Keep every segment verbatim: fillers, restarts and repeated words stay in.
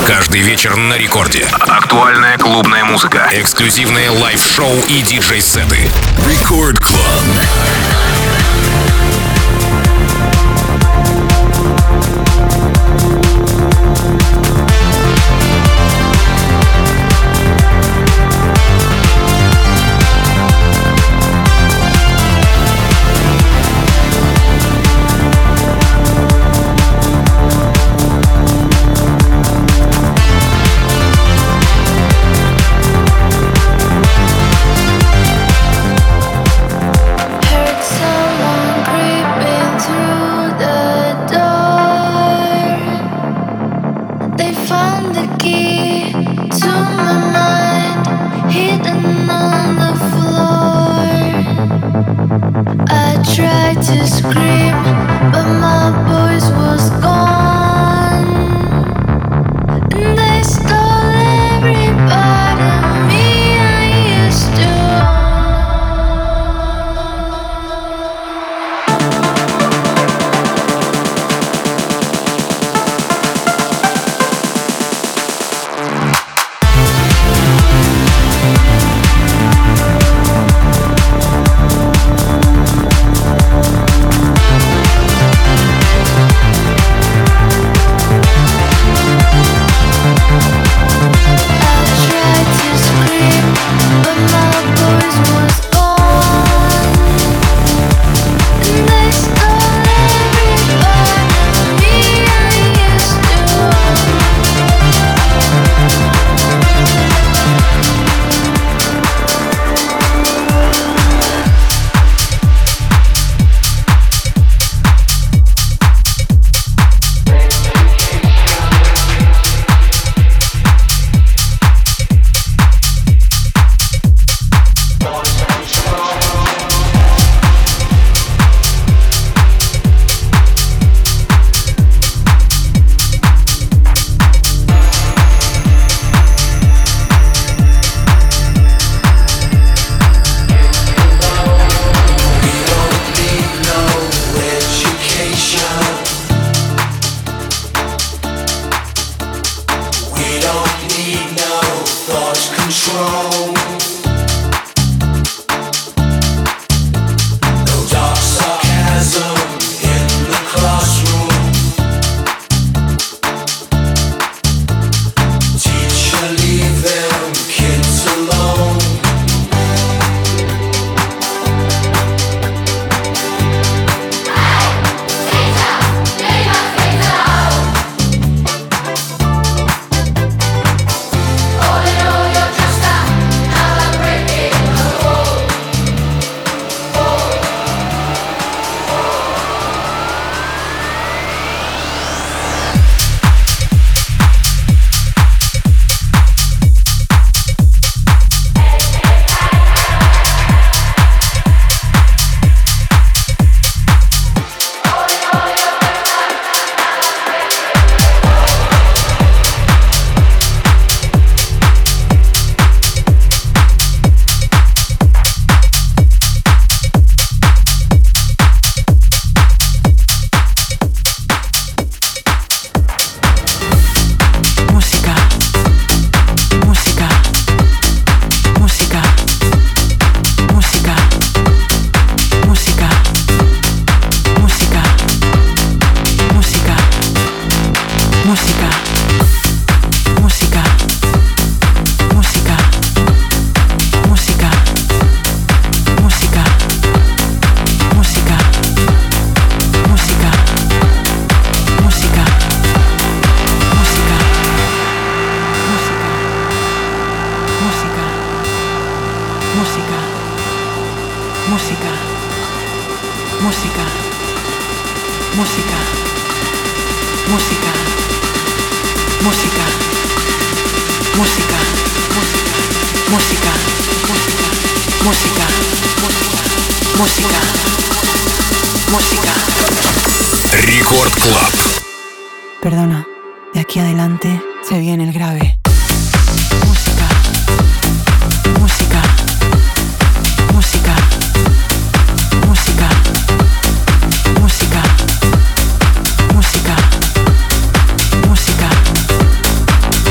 Каждый вечер на рекорде. Актуальная клубная музыка. Эксклюзивные лайв-шоу и диджей-сеты. Record Club. Record Club. Perdona, de aquí adelante se viene el grave. Música, música, música, música, música, música, música,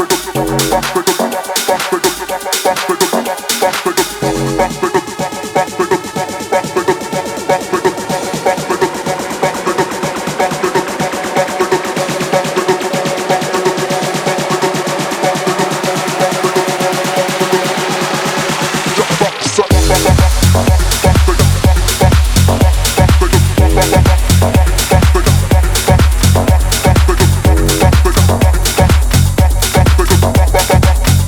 We'll be right back.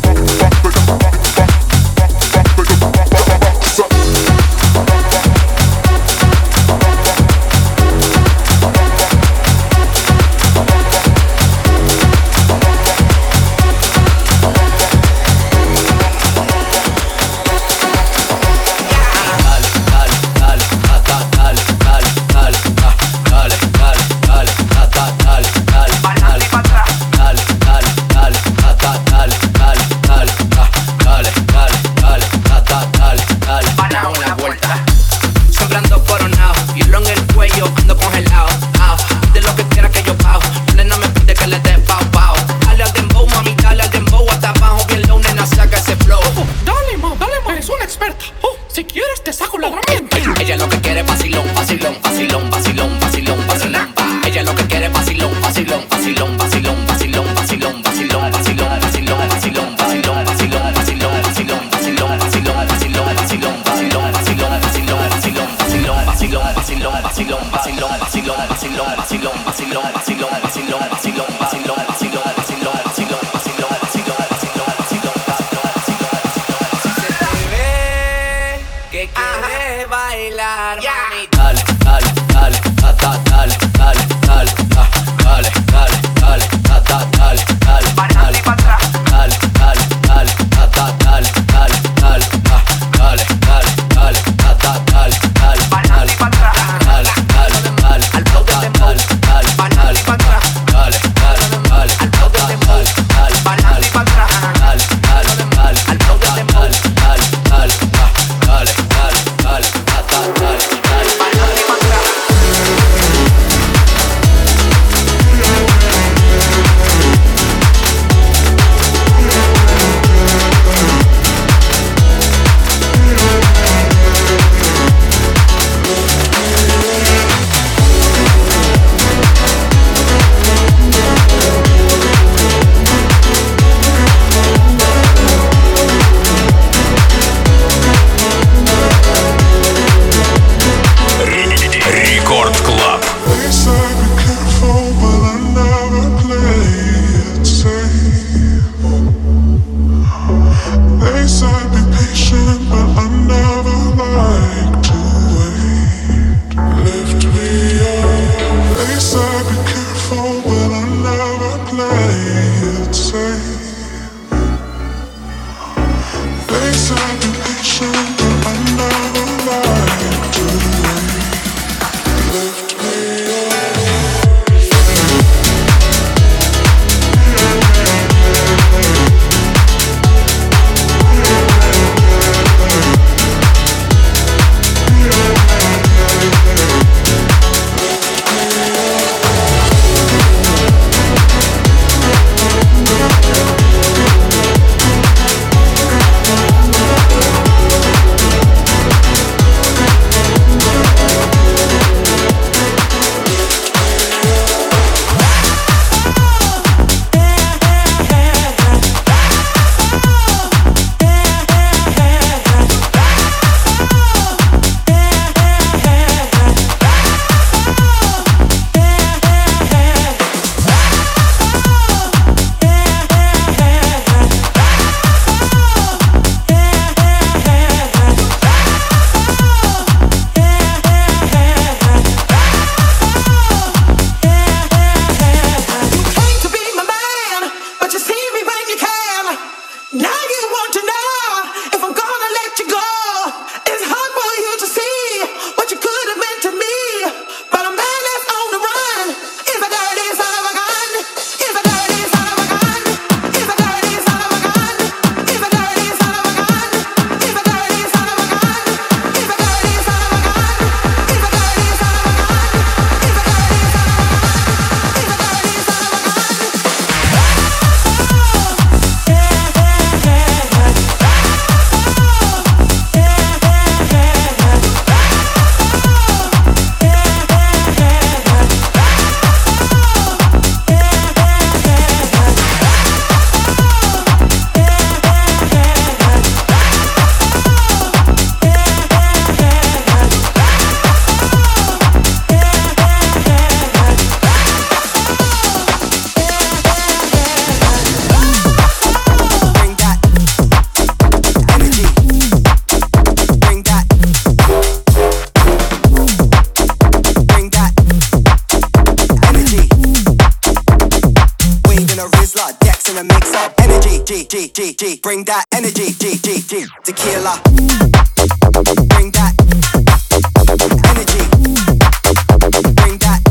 energy, G, G, G, G. Bring that energy, G, G, G. Tequila. Bring that energy. Bring that.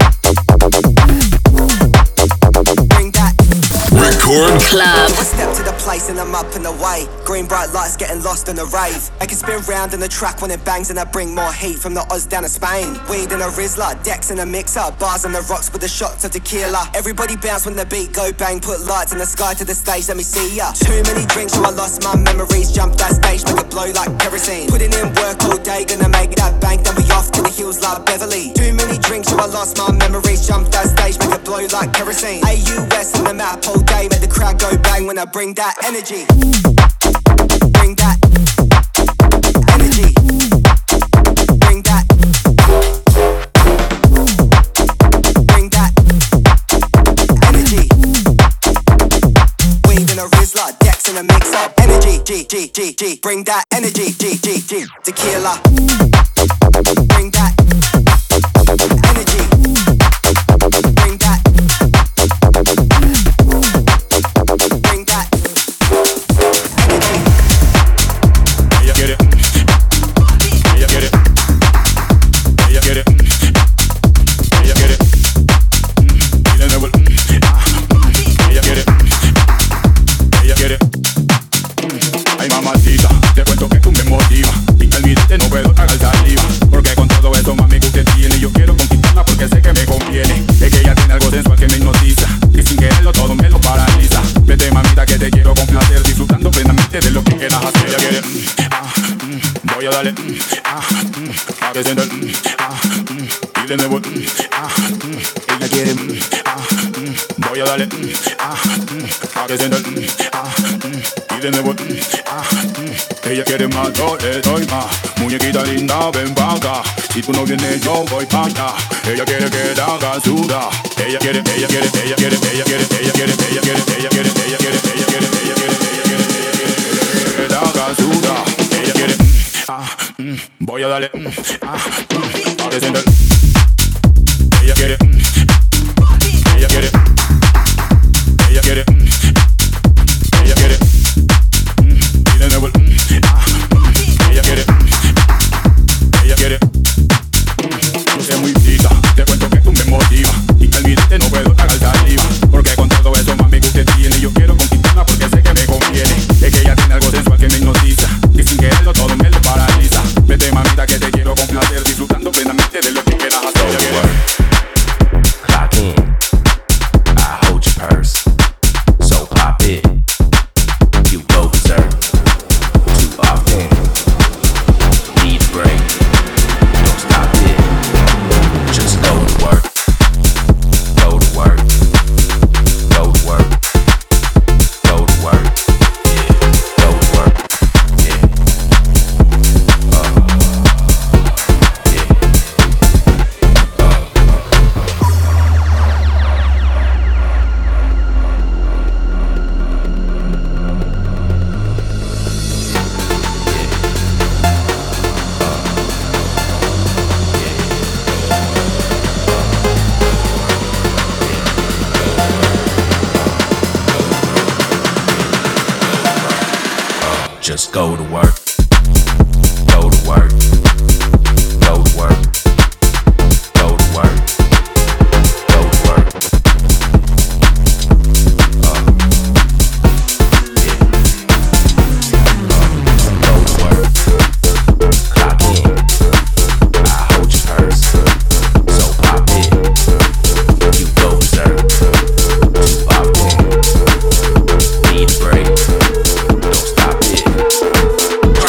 Bring that. Record Club. I step to the place and I'm up and away. Green bright lights getting lost in the rave. I can spin round in the track when it bangs and I bring more heat from the Oz down to Spain. Weed in a Rizla, decks in a mixer, bars on the rocks with the shots of tequila. Everybody bounce when the beat go bang, put lights in the sky to the stage, let me see ya. Too many drinks so I lost my memories, jump that stage, make it blow like kerosene. Putting in work all day, gonna make that bank, then we off to the hills like Beverly. Too many drinks so I lost my memories, jump that stage, make it blow like kerosene. A U S on the map all day, make the crowd go bang when I bring that energy. Bring that energy. Bring that. Bring that energy. Weed in a Rizla, decks in a mix up. Energy, G, G, G, G. Bring that energy, G, G, G. Tequila. Bring that energy. Bring that. Bring that. Get it. Ella get it. Ella get it. Ella get it. Y de nuevo. Ella get it. Ella get it. Ay mamacita, te cuento que tú me motivas. Y al mirarte no puedo tragar saliva. Porque con todo eso mami que usted tiene, yo quiero conquistarla porque sé que me conviene. Es que ella tiene algo sensual que me hipnotiza. Y sin quererlo todo me lo paraliza. Vete mamita que te quiero complacer, disfrutando plenamente de lo que quieras hacer. Ella quiere, mm, ah, mm, voy a darle, mm, ah, mm, a que sienta el, mm, ah, mm, y de nuevo, mm, ah, mm, ella quiere, mm, ah, mm, voy a darle, mm, ah, mm, a que sienta el, mm, ah, mm, y de nuevo, mm, ah, mm, ella quiere más, yo le doy más. Muñequita linda, ven pa' acá. Si tú no vienes, yo voy pa' allá. Ella quiere que la haga sudar. Ella quiere, ella quiere, ella quiere, ella quiere, ella quiere, ella quiere, ella quiere, ella quiere, ella quiere, ella quiere, ella quiere, que la haga sudar. Ella quiere, ah, voy a darle, ah, a que sienta. Ella quiere, ella quiere, ella quiere, ella quiere, y de nuevo, ah, ella quiere, ella quiere. Yo sé muy pita, te cuento que tú me motivas. Y al mirarte no puedo tragar saliva. Porque con todo eso mami que usted tiene, yo quiero conquistarla porque sé que me conviene. Es que ella tiene algo sensual que me hipnotiza. Y sin quererlo todo me lo paraliza. Vete mamita que te quiero complacer, disfrutando plenamente de lo que quieras hacer. Ella quiere. Clock in, I hold your purse. So pop it, you go berserk. Too often, need a break. Don't stop it, just go to work. Go to work, go to work, go to work, yeah, go to work, yeah, uh, yeah, just go to work. Go to work. Go to work. Go to work. Go to work. Uh, yeah. Uh, go to work. Clock in. I hold your purse. So pop it. You go berserk. Too often. Need a break. Don't stop it.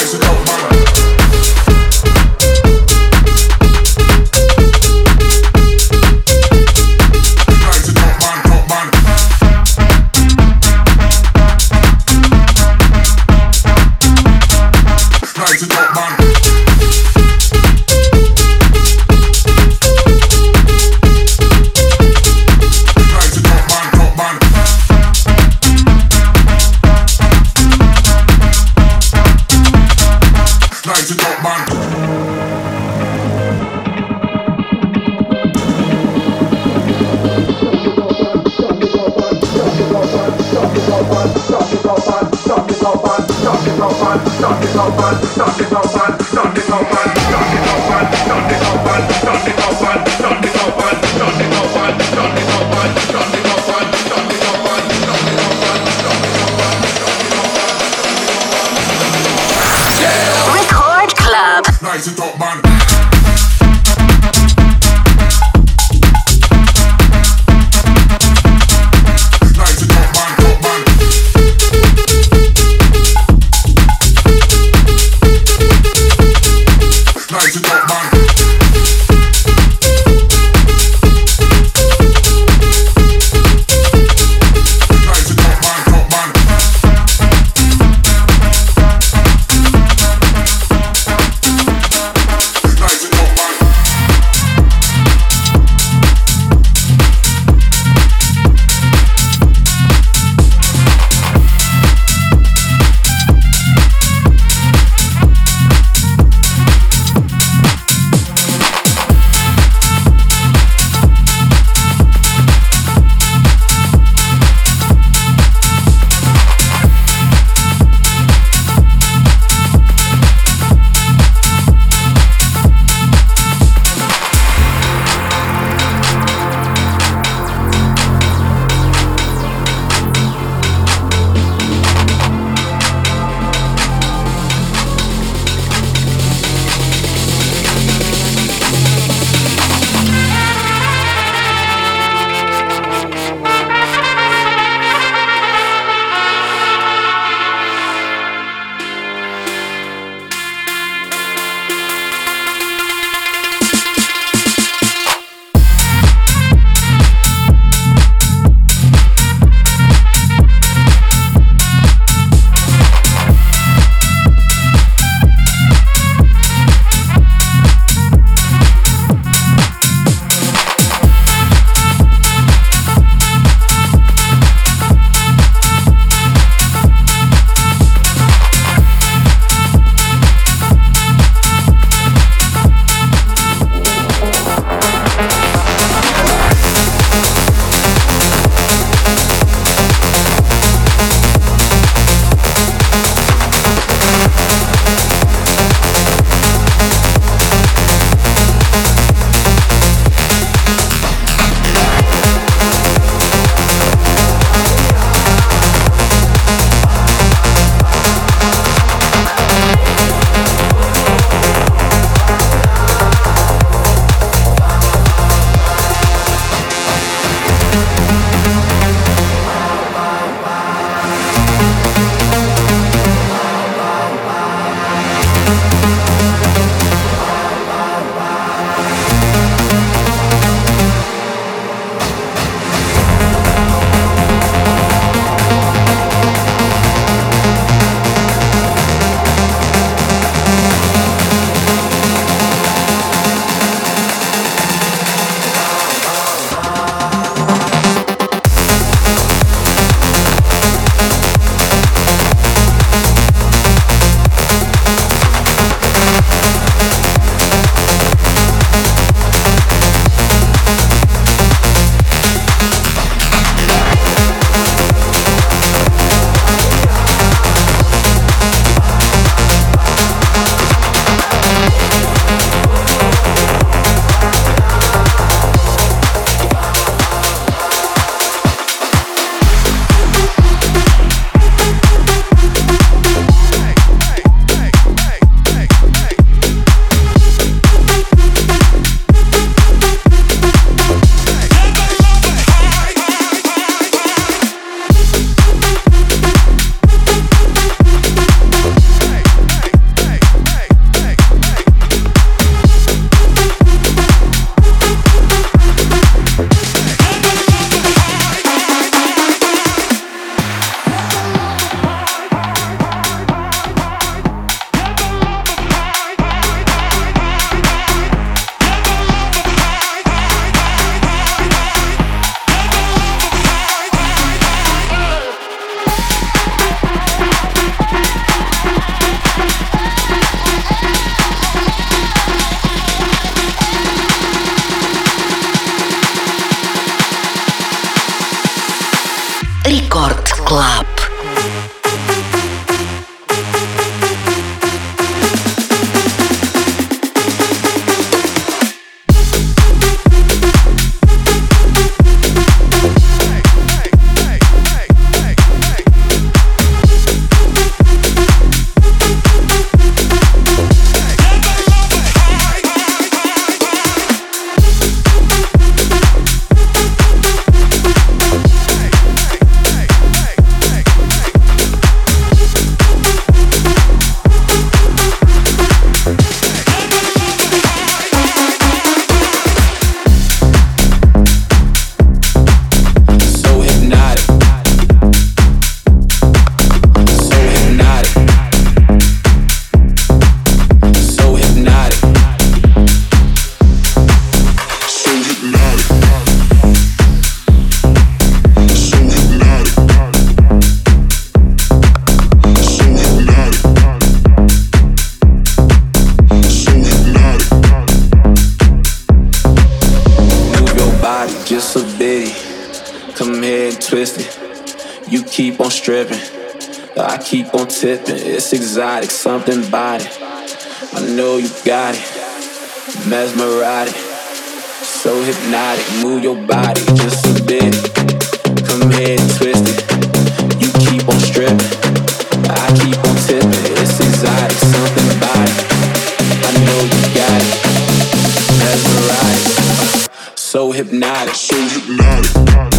stripping. I keep on tipping. It's exotic, something about it. I know you got it. Mesmerizing, so hypnotic. Move your body just a bit. Come here and twist it. You keep on stripping. I keep on tipping. It's exotic, something about it. I know you got it. Mesmerizing, so hypnotic. So hypnotic.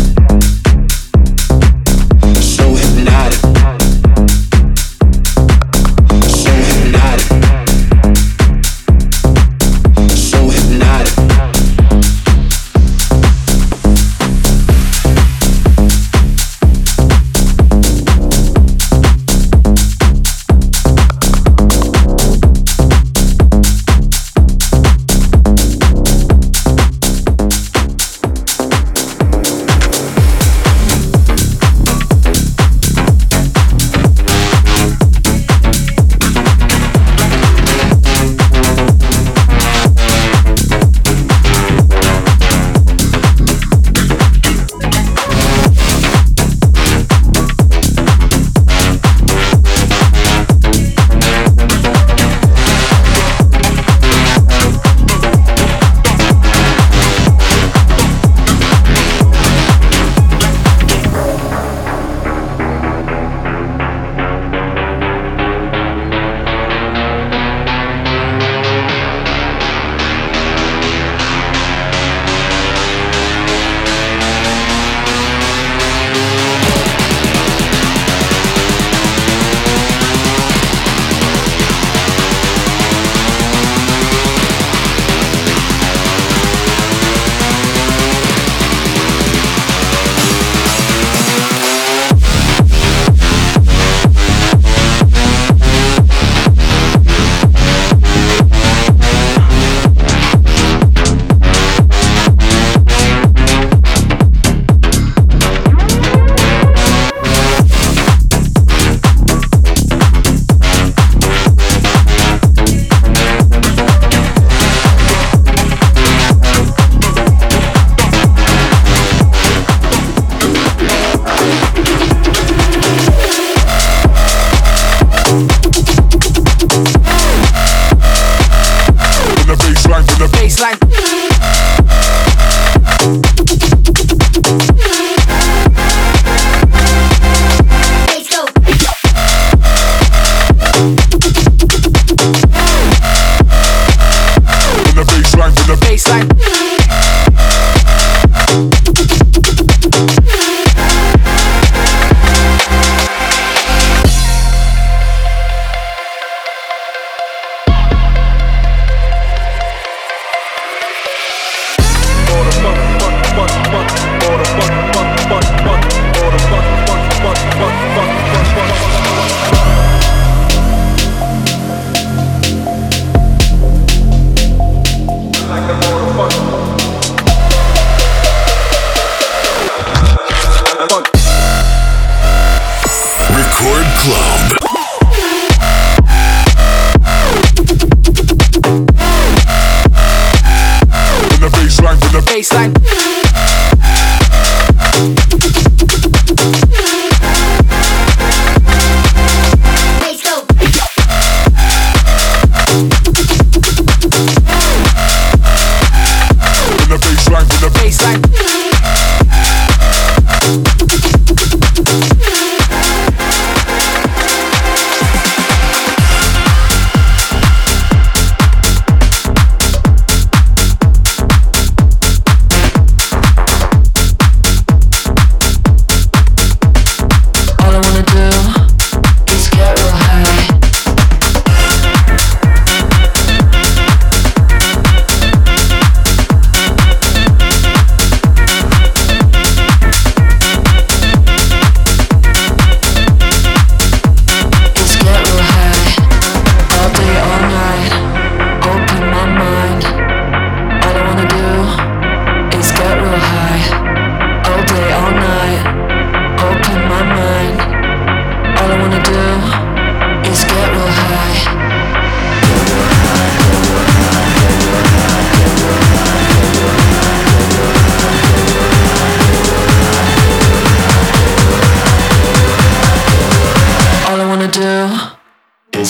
So hypnotic. So hypnotic. So hypnotic.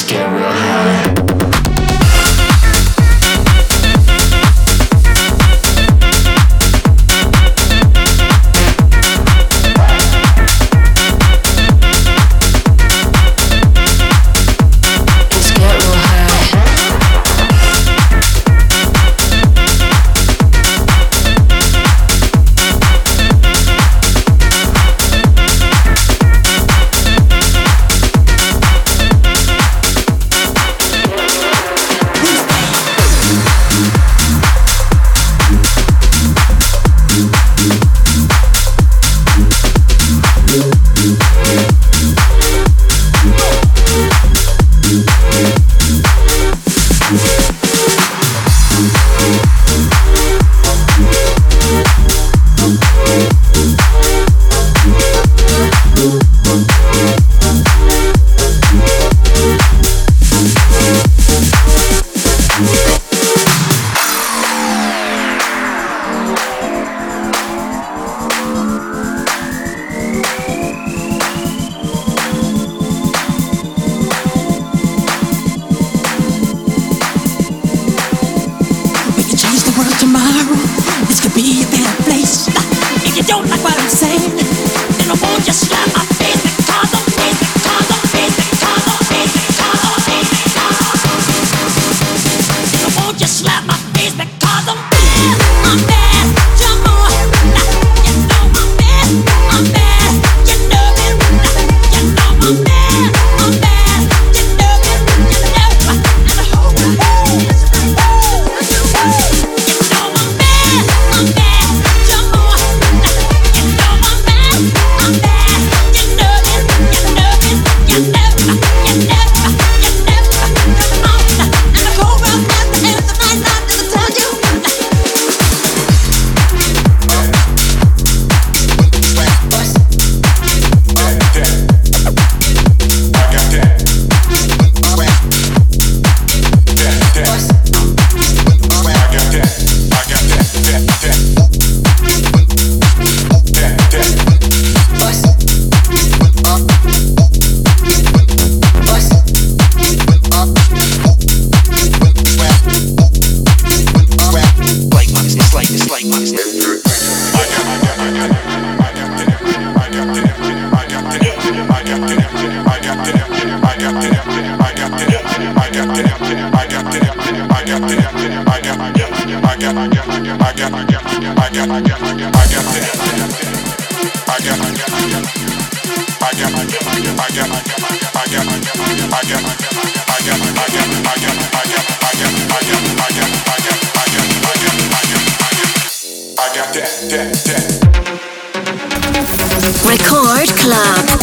Record Club.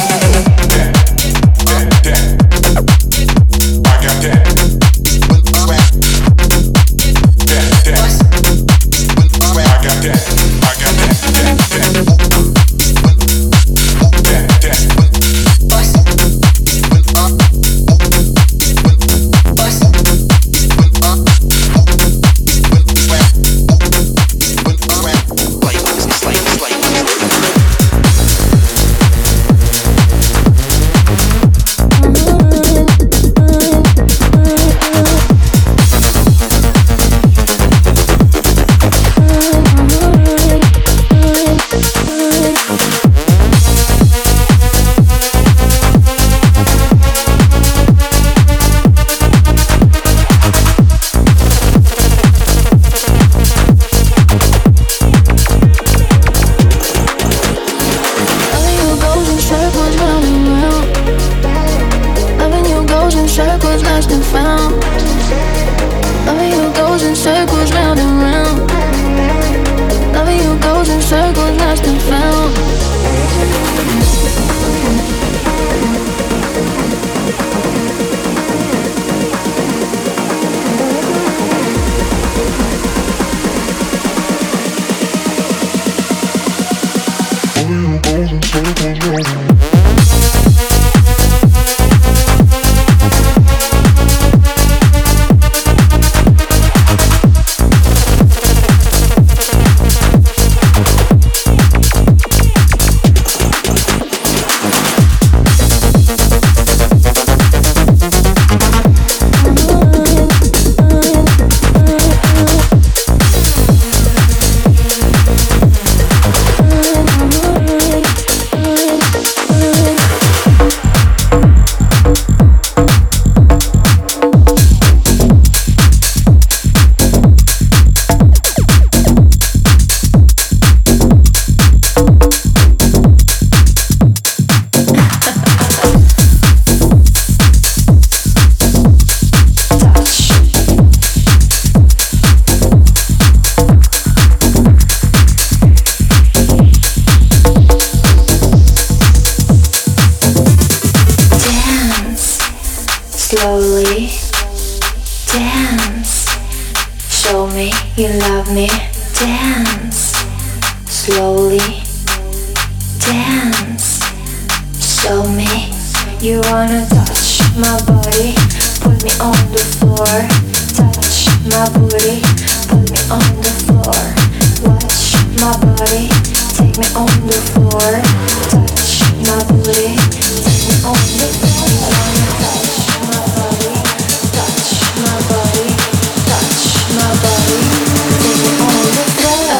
slowly dance. Show me you love me, dance. Slowly dance. Show me you wanna touch my body, put me on the floor. Touch my booty, put me on the floor. Watch my body, take me on the floor. Touch my booty, take me on the floor. I wanna touch my body, touch my body, touch my body, take me on the floor.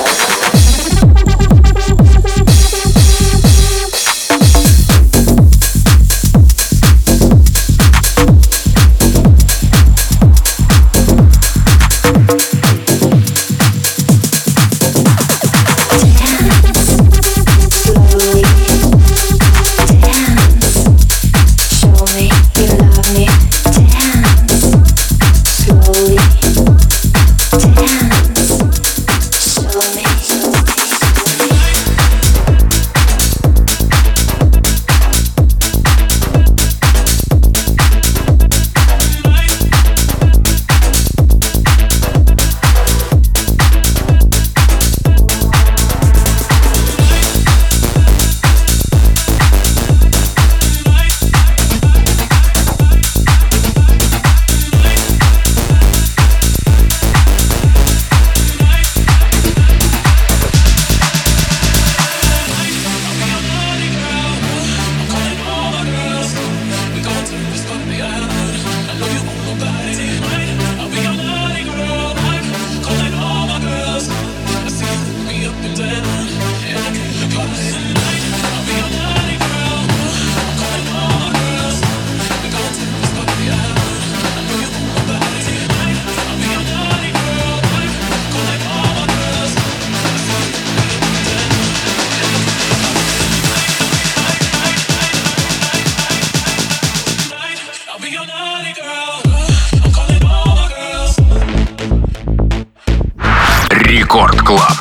Рекорд Клаб.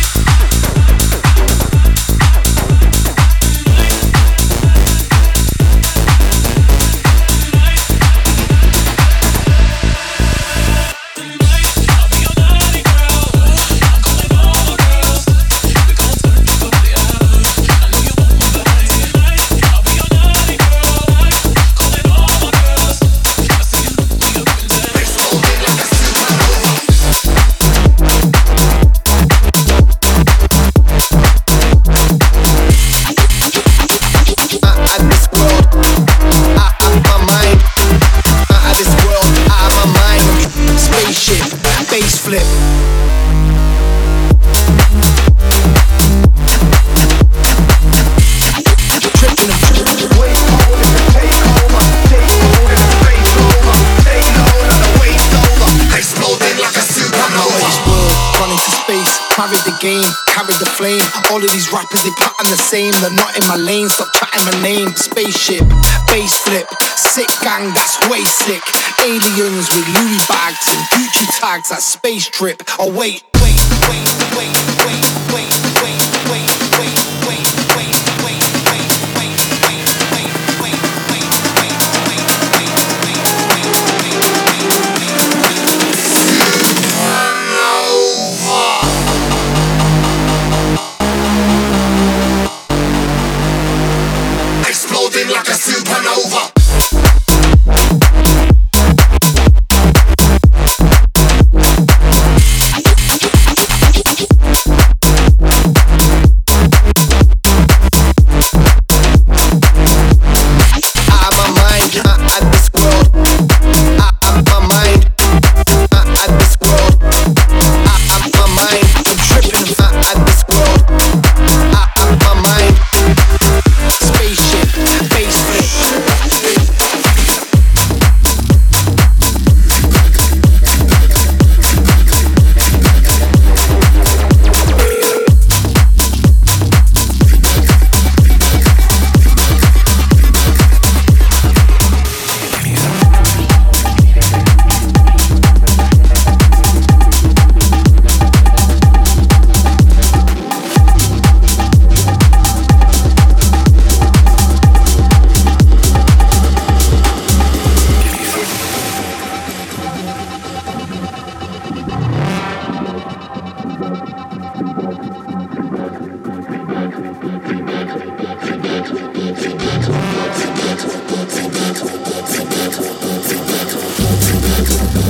All of these rappers, they pattern the same. They're not in my lane, stop chatting my name. Spaceship, bass flip, sick gang, that's way sick. Aliens with Louis bags and Gucci tags, that's space trip. Oh wait, wait, wait, wait, wait, wait, wait, wait, wait, wait, wait, wait, wait, wait, wait, wait, wait, wait, wait, exploding like a supernova.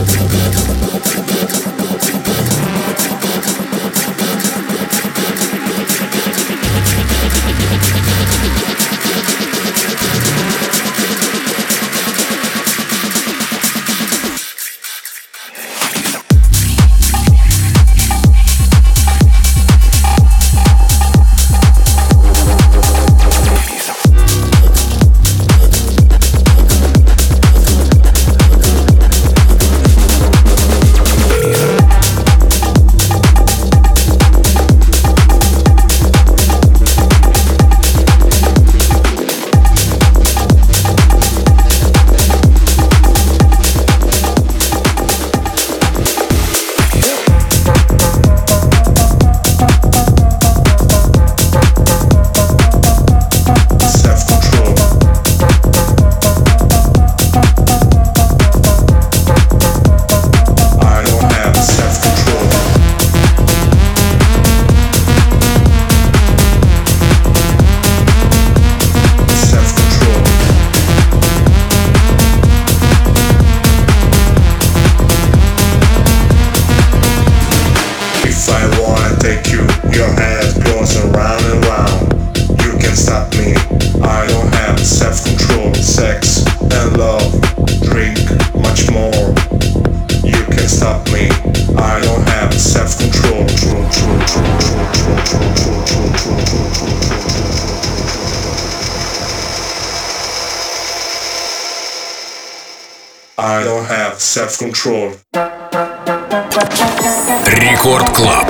I don't have self-control. Рекорд Клаб.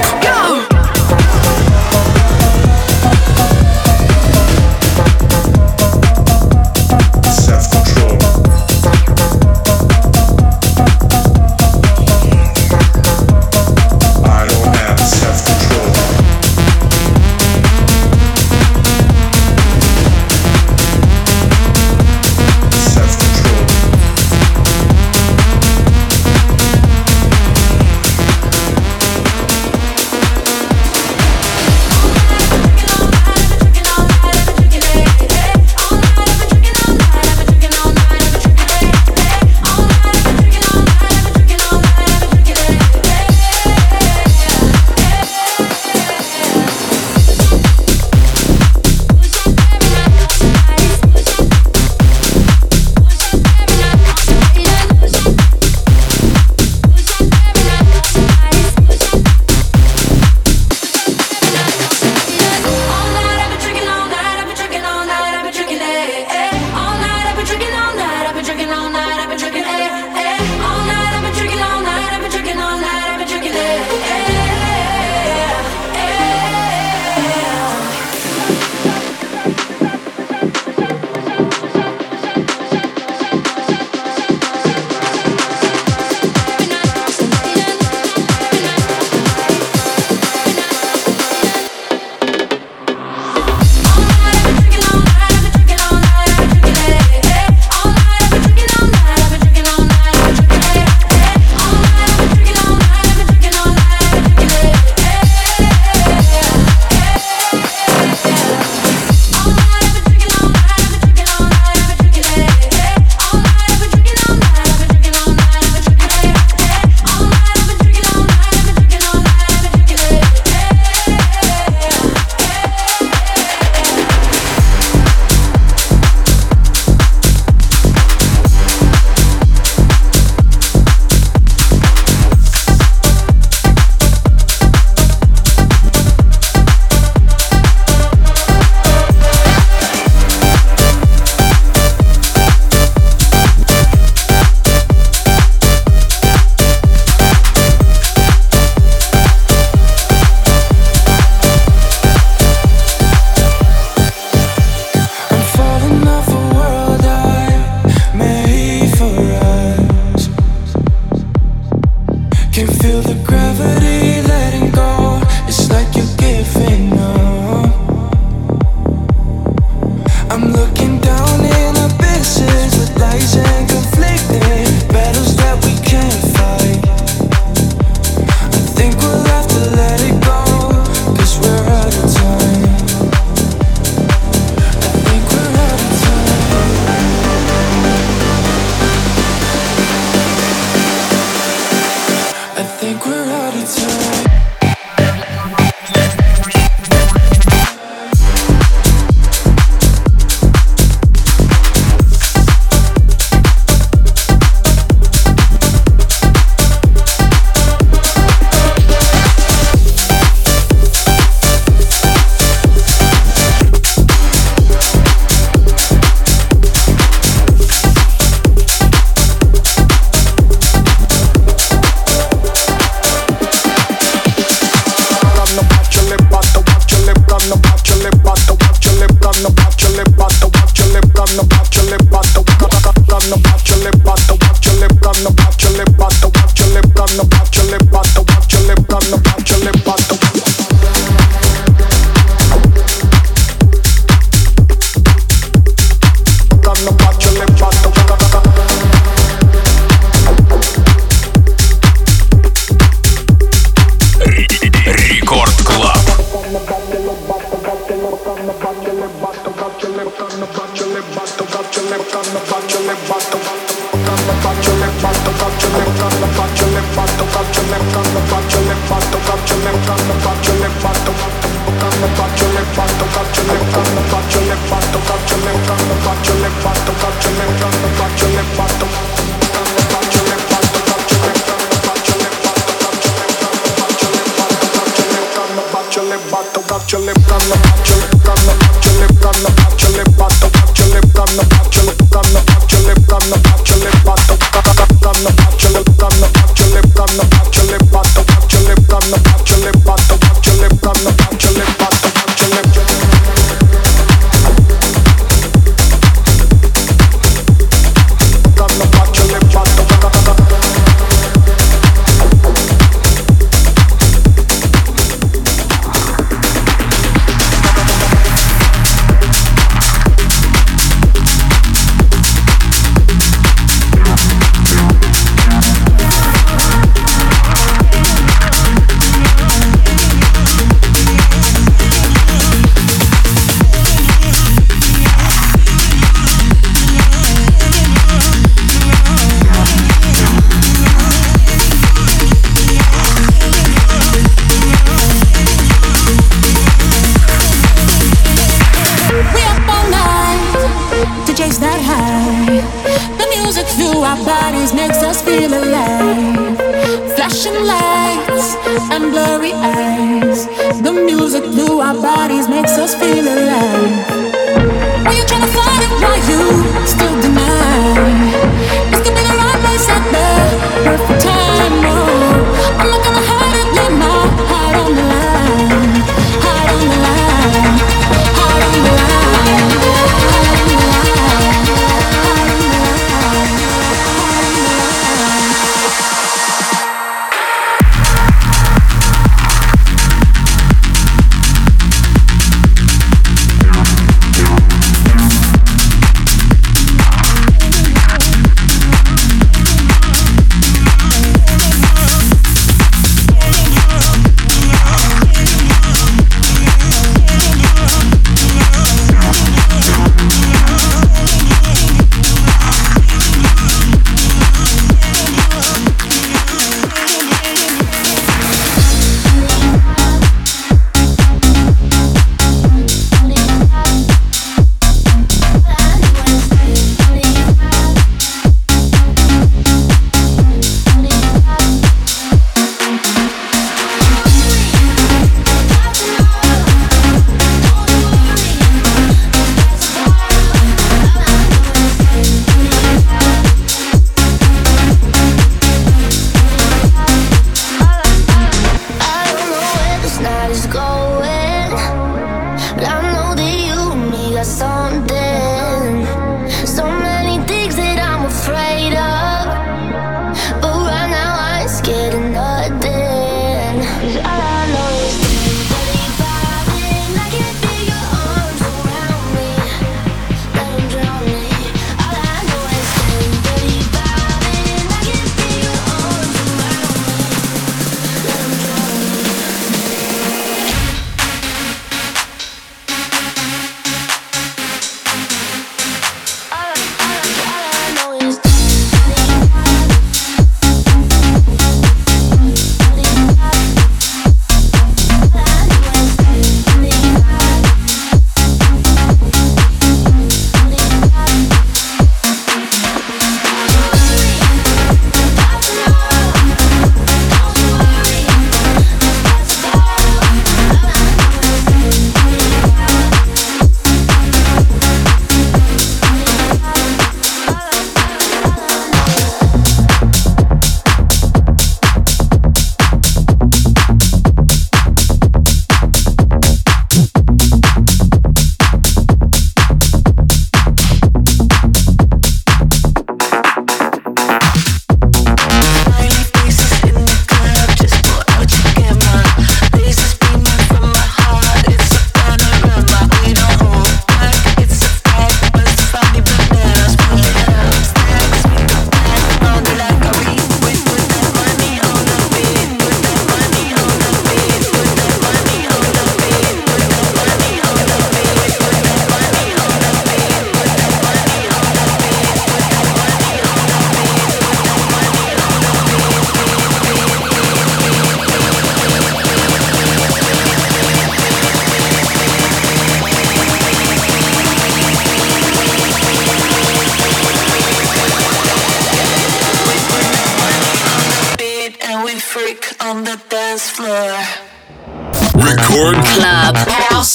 floor. Record Club. House.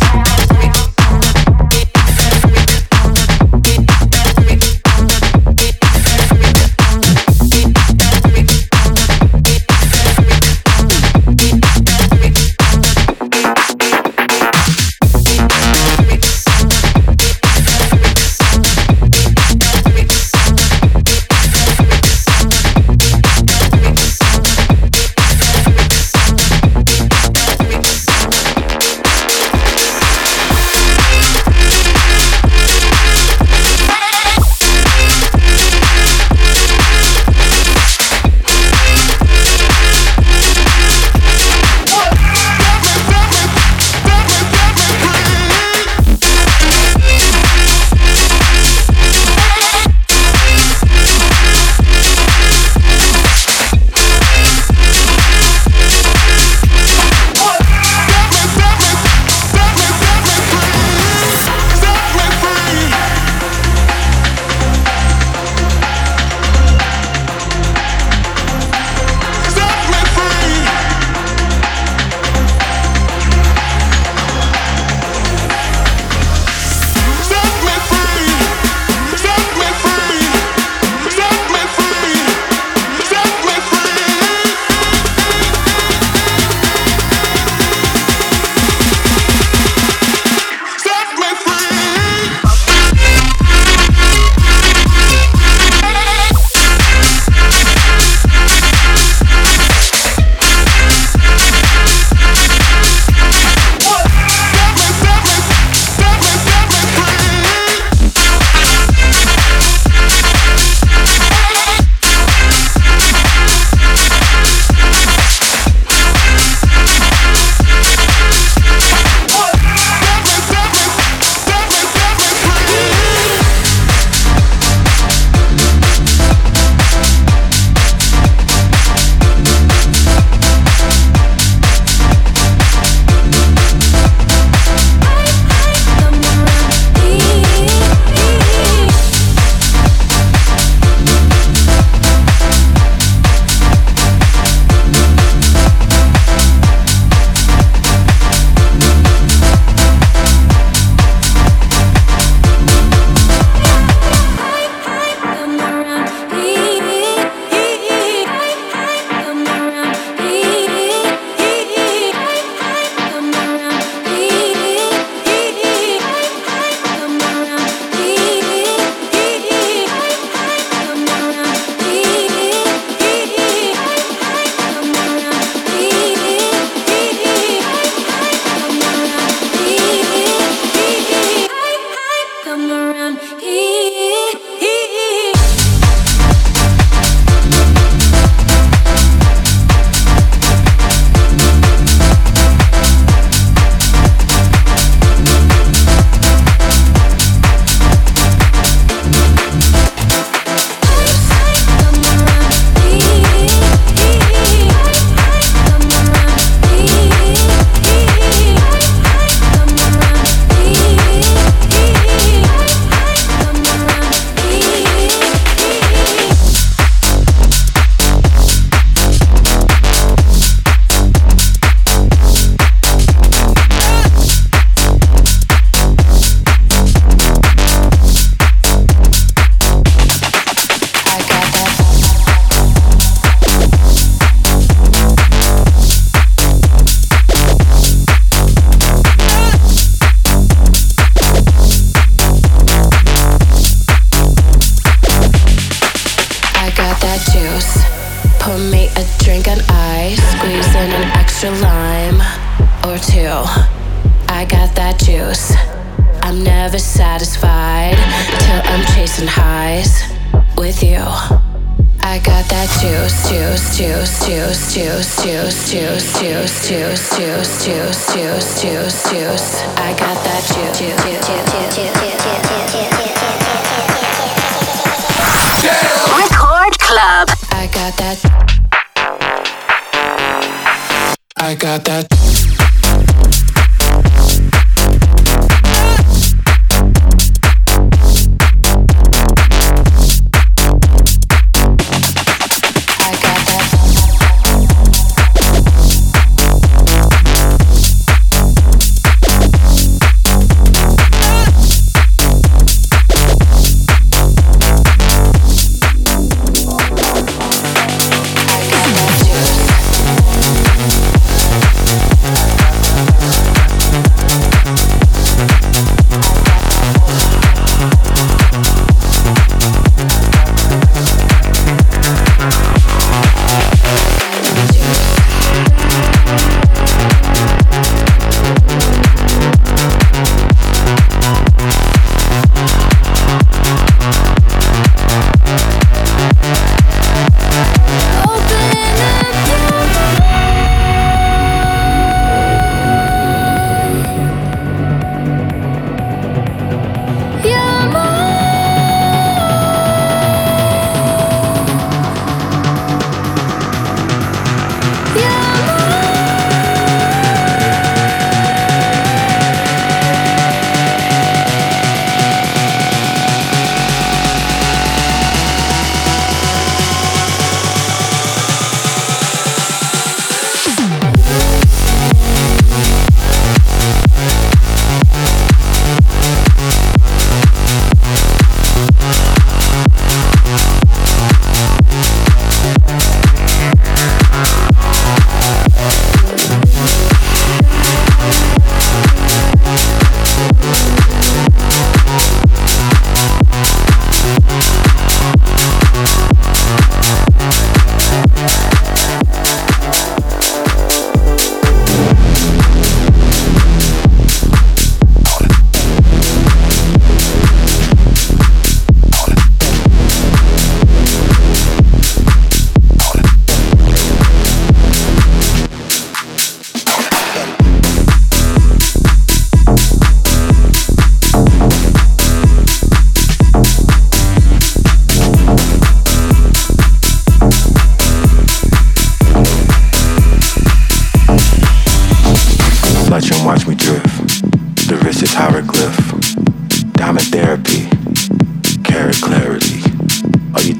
I got that.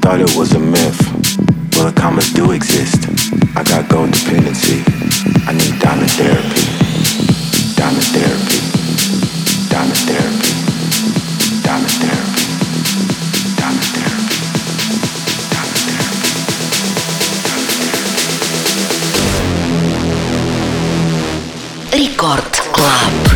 thought it was a myth. Well, the commas do exist. I got gold dependency. I need diamond therapy. Diamond therapy. Diamond therapy. Diamond therapy. Diamond therapy. Diamond therapy. Record Club.